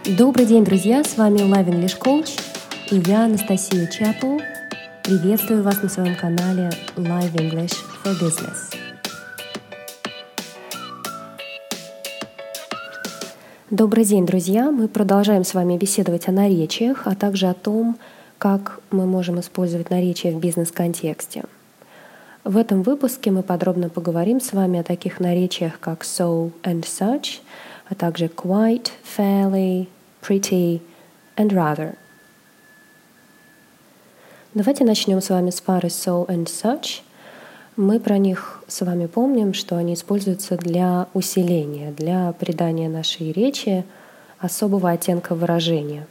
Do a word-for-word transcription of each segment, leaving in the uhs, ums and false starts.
Добрый день, друзья! С вами Live English Coach и я, Анастасия Чапл. Приветствую вас на своем канале Live English for Business. Добрый день, друзья! Мы продолжаем с вами беседовать о наречиях, а также о том, как мы можем использовать наречия в бизнес-контексте. В этом выпуске мы подробно поговорим с вами о таких наречиях, как so and such, а также quite, fairly, pretty and rather. Давайте начнем с вами с пары so and such. Мы про них с вами помним, что они используются для усиления, для придания нашей речи особого оттенка выражения.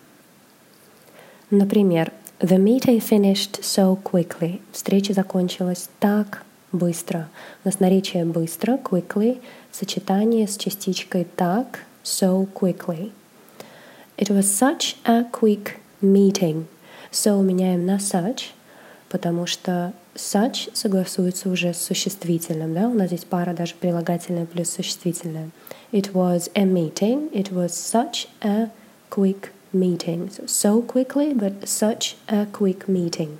Например, The meeting finished so quickly. Встреча закончилась так быстро. У нас наречие быстро, quickly, в сочетании с частичкой так, so quickly. It was such a quick meeting. So меняем на such, потому что such согласуется уже с существительным. Да? У нас здесь пара даже прилагательное плюс существительное. It was a meeting. It was such a quick meeting. So, so quickly, but such a quick meeting.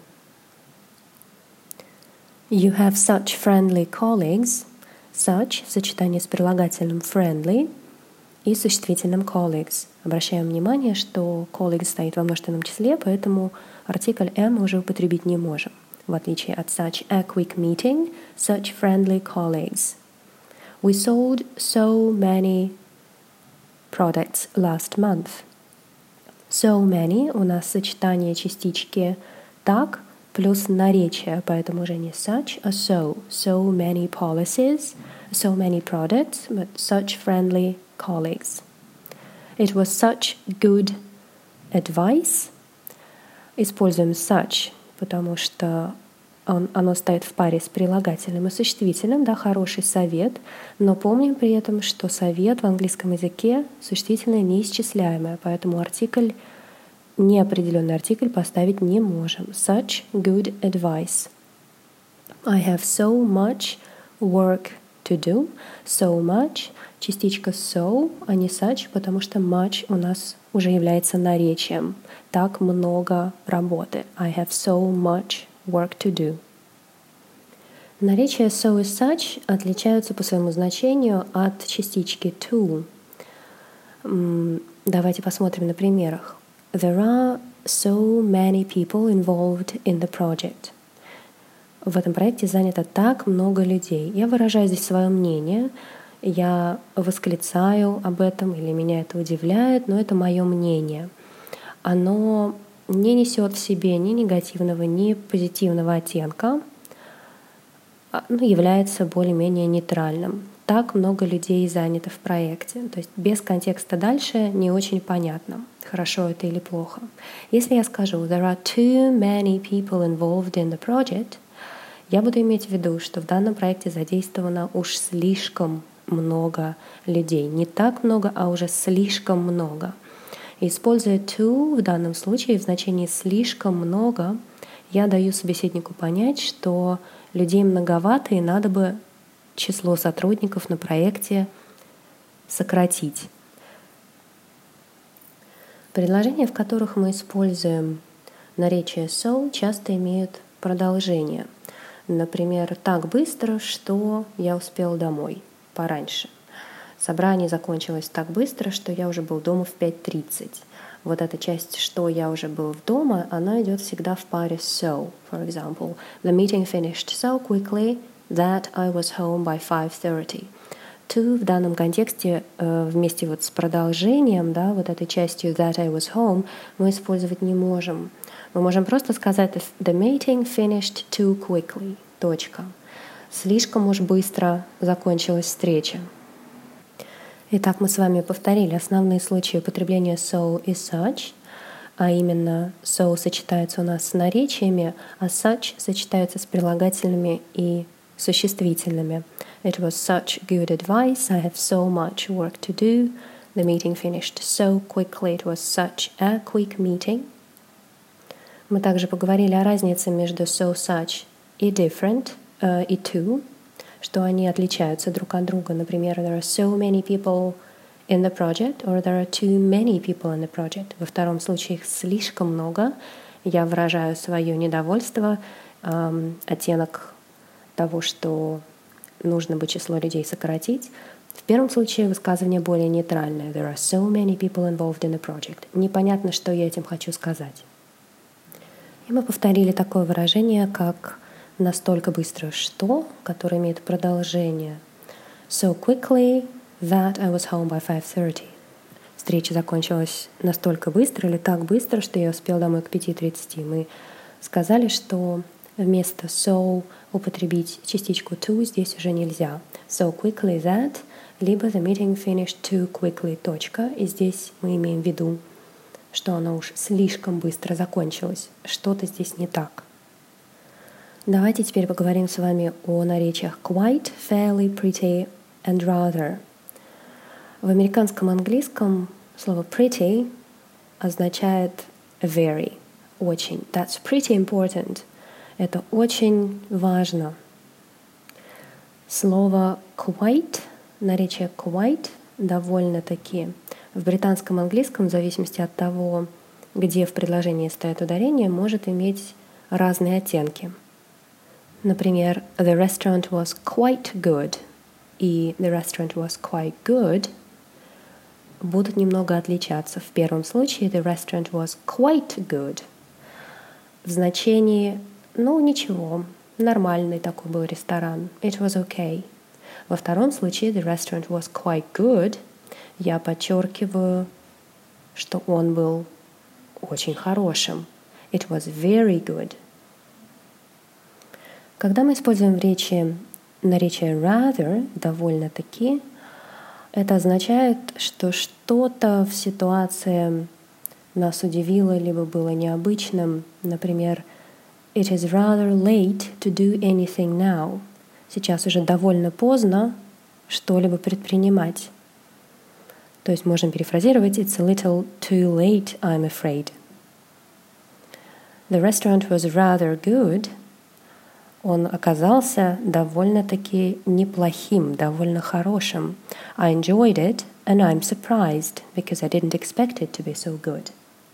You have such friendly colleagues. Such в сочетании с прилагательным friendly и существительным colleagues. Обращаем внимание, что colleagues стоит во множественном числе, поэтому артикль am мы уже употребить не можем. В отличие от such a quick meeting, such friendly colleagues. We sold so many products last month. So many у нас сочетание частички так плюс наречие, поэтому уже не such, а so. So many policies, so many products, but such friendly colleagues. It was such good advice. Используем such, потому что он, оно стоит в паре с прилагательным и существительным, да, хороший совет, но помним при этом, что совет в английском языке существительное неисчисляемое, поэтому артикль, неопределенный артикль поставить не можем. Such good advice. I have so much work to do. So much, частичка so, а не such, потому что much у нас уже является наречием. Так много работы. I have so much work to do. Наречия so и such отличаются по своему значению от частички to. Давайте посмотрим на примерах. There are so many people involved in the project. В этом проекте занято так много людей. Я выражаю здесь свое мнение, я восклицаю об этом или меня это удивляет, но это мое мнение. Оно не несет в себе ни негативного, ни позитивного оттенка, но является более-менее нейтральным. Так много людей занято в проекте. То есть без контекста дальше не очень понятно, хорошо это или плохо. Если я скажу «There are too many people involved in the project», я буду иметь в виду, что в данном проекте задействовано уж слишком много людей. Не так много, а уже слишком много. Используя to в данном случае в значении «слишком много», я даю собеседнику понять, что людей многовато и надо бы число сотрудников на проекте сократить. Предложения, в которых мы используем наречие so, часто имеют продолжение. Например, так быстро, что я успел домой пораньше. Собрание закончилось так быстро, что я уже был дома в пять тридцать. Вот эта часть, что я уже был в дома, она идет всегда в паре so. For example, the meeting finished so quickly that I was home by five thirty. To в данном контексте э, вместе вот с продолжением, да, вот этой частью that I was home мы использовать не можем. Мы можем просто сказать the meeting finished too quickly. Точка. Слишком уж быстро закончилась встреча. Итак, мы с вами повторили основные случаи употребления so и such, а именно so сочетается у нас с наречиями, а such сочетается с прилагательными и существительными. It was such good advice. I have so much work to do. The meeting finished so quickly. It was such a quick meeting. Мы также поговорили о разнице между so, such и different, uh, и to, что они отличаются друг от друга. Например, there are so many people in the project, or there are too many people in the project. Во втором случае их слишком много. Я выражаю свое недовольство, эм, оттенок того, что нужно бы число людей сократить. В первом случае высказывание более нейтральное. There are so many people involved in the project. Непонятно, что я этим хочу сказать. И мы повторили такое выражение, как настолько быстро что, которое имеет продолжение. So quickly that I was home by five thirty. Встреча закончилась настолько быстро или так быстро, что я успел домой к пяти тридцати. Мы сказали, что вместо so употребить частичку to здесь уже нельзя. So quickly that, либо the meeting finished too quickly, точка. И здесь мы имеем в виду, что оно уж слишком быстро закончилось. Что-то здесь не так. Давайте теперь поговорим с вами о наречиях quite, fairly, pretty and rather. В американском английском слово pretty означает very, очень. That's pretty important. Это очень важно. Слово quite, наречие quite довольно-таки в британском английском, в зависимости от того, где в предложении стоит ударение, может иметь разные оттенки. Например, the restaurant was quite good и the restaurant was quite good будут немного отличаться. В первом случае the restaurant was quite good в значении ну ничего, нормальный такой был ресторан. It was okay. Во втором случае the restaurant was quite good. Я подчеркиваю, что он был очень хорошим. It was very good. Когда мы используем в речи наречие rather, довольно-таки, это означает, что что-то в ситуации нас удивило, либо было необычным. Например, It is rather late to do anything now. Сейчас уже довольно поздно что-либо предпринимать. То есть можем перефразировать It's a little too late, I'm afraid. The restaurant was rather good. Он оказался довольно-таки неплохим, довольно хорошим. I enjoyed it, and I'm surprised, because I didn't expect it to be so good.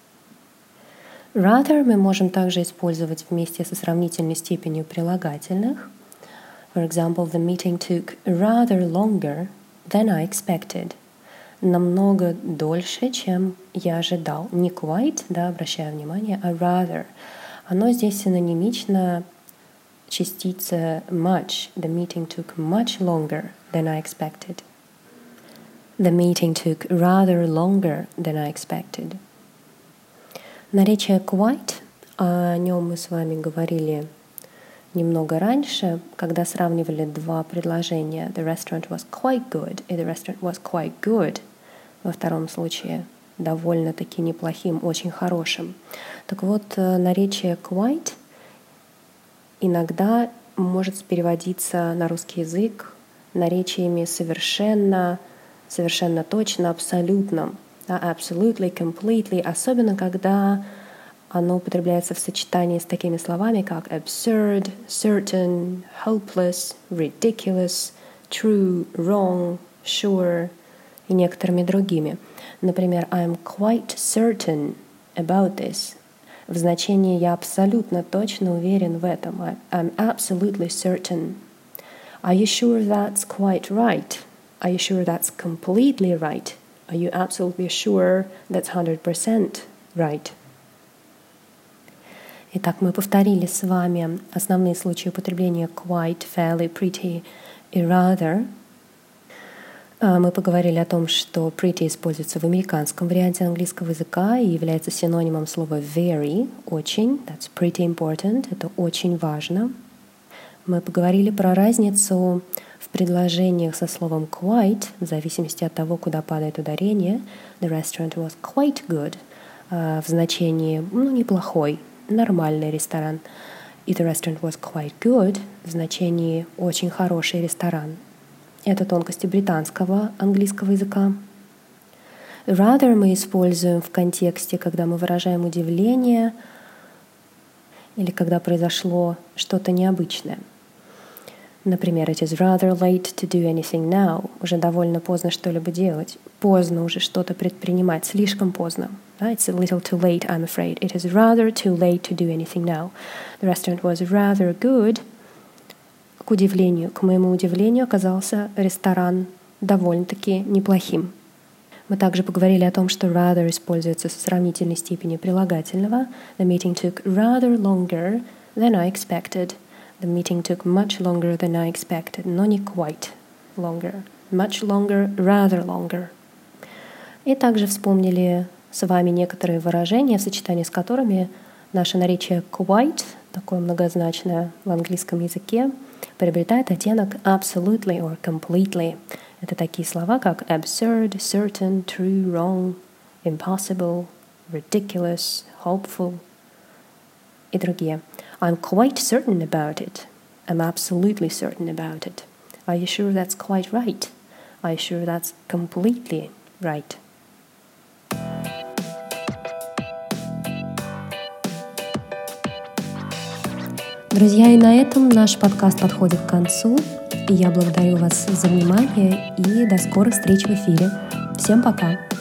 Rather мы можем также использовать вместе со сравнительной степенью прилагательных. For example, the meeting took rather longer than I expected. Намного дольше, чем я ожидал. Не quite, да, обращаю внимание, а rather. Оно здесь синонимично частица much. The meeting took much longer than I expected. The meeting took rather longer than I expected. Наречие quite, о нем мы с вами говорили немного раньше, когда сравнивали два предложения. The restaurant was quite good и the restaurant was quite good. Во втором случае довольно-таки неплохим, очень хорошим. Так вот, наречие quite иногда может переводиться на русский язык наречиями совершенно, совершенно точно, абсолютно. Absolutely, completely, особенно когда оно употребляется в сочетании с такими словами, как absurd, certain, hopeless, ridiculous, true, wrong, sure и некоторыми другими. Например, I'm quite certain about this. В значении «я абсолютно точно уверен в этом». I'm absolutely certain. Are you sure that's quite right? Are you sure that's completely right? Are you absolutely sure that's one hundred percent right? Итак, мы повторили с вами основные случаи употребления quite, fairly, pretty и rather. Мы поговорили о том, что pretty используется в американском варианте английского языка и является синонимом слова very, очень. That's pretty important, это очень важно. Мы поговорили про разницу в предложениях со словом quite, в зависимости от того, куда падает ударение. The restaurant was quite good, в значении ну, неплохой, нормальный ресторан. И the restaurant was quite good в значении очень хороший ресторан. Это тонкости британского английского языка. Rather мы используем в контексте, когда мы выражаем удивление или когда произошло что-то необычное. Например, it is rather late to do anything now. Уже довольно поздно что-либо делать. Поздно уже что-то предпринимать. Слишком поздно. Да? It's a little too late, I'm afraid. It is rather too late to do anything now. The restaurant was rather good. К удивлению, к моему удивлению, оказался ресторан довольно-таки неплохим. Мы также поговорили о том, что rather используется со сравнительной степенью прилагательного. The meeting took rather longer than I expected. The meeting took much longer than I expected, но не quite longer. Much longer, rather longer. И также вспомнили с вами некоторые выражения, в сочетании с которыми наше наречие quite, такое многозначное в английском языке, приобретает оттенок absolutely or completely. Это такие слова, как absurd, certain, true, wrong, impossible, ridiculous, hopeful и другие. I'm quite certain about it. I'm absolutely certain about it. Are you sure that's quite right? Are you sure that's completely right? Друзья, и на этом наш подкаст подходит к концу. И я благодарю вас за внимание и до скорых встреч в эфире. Всем пока!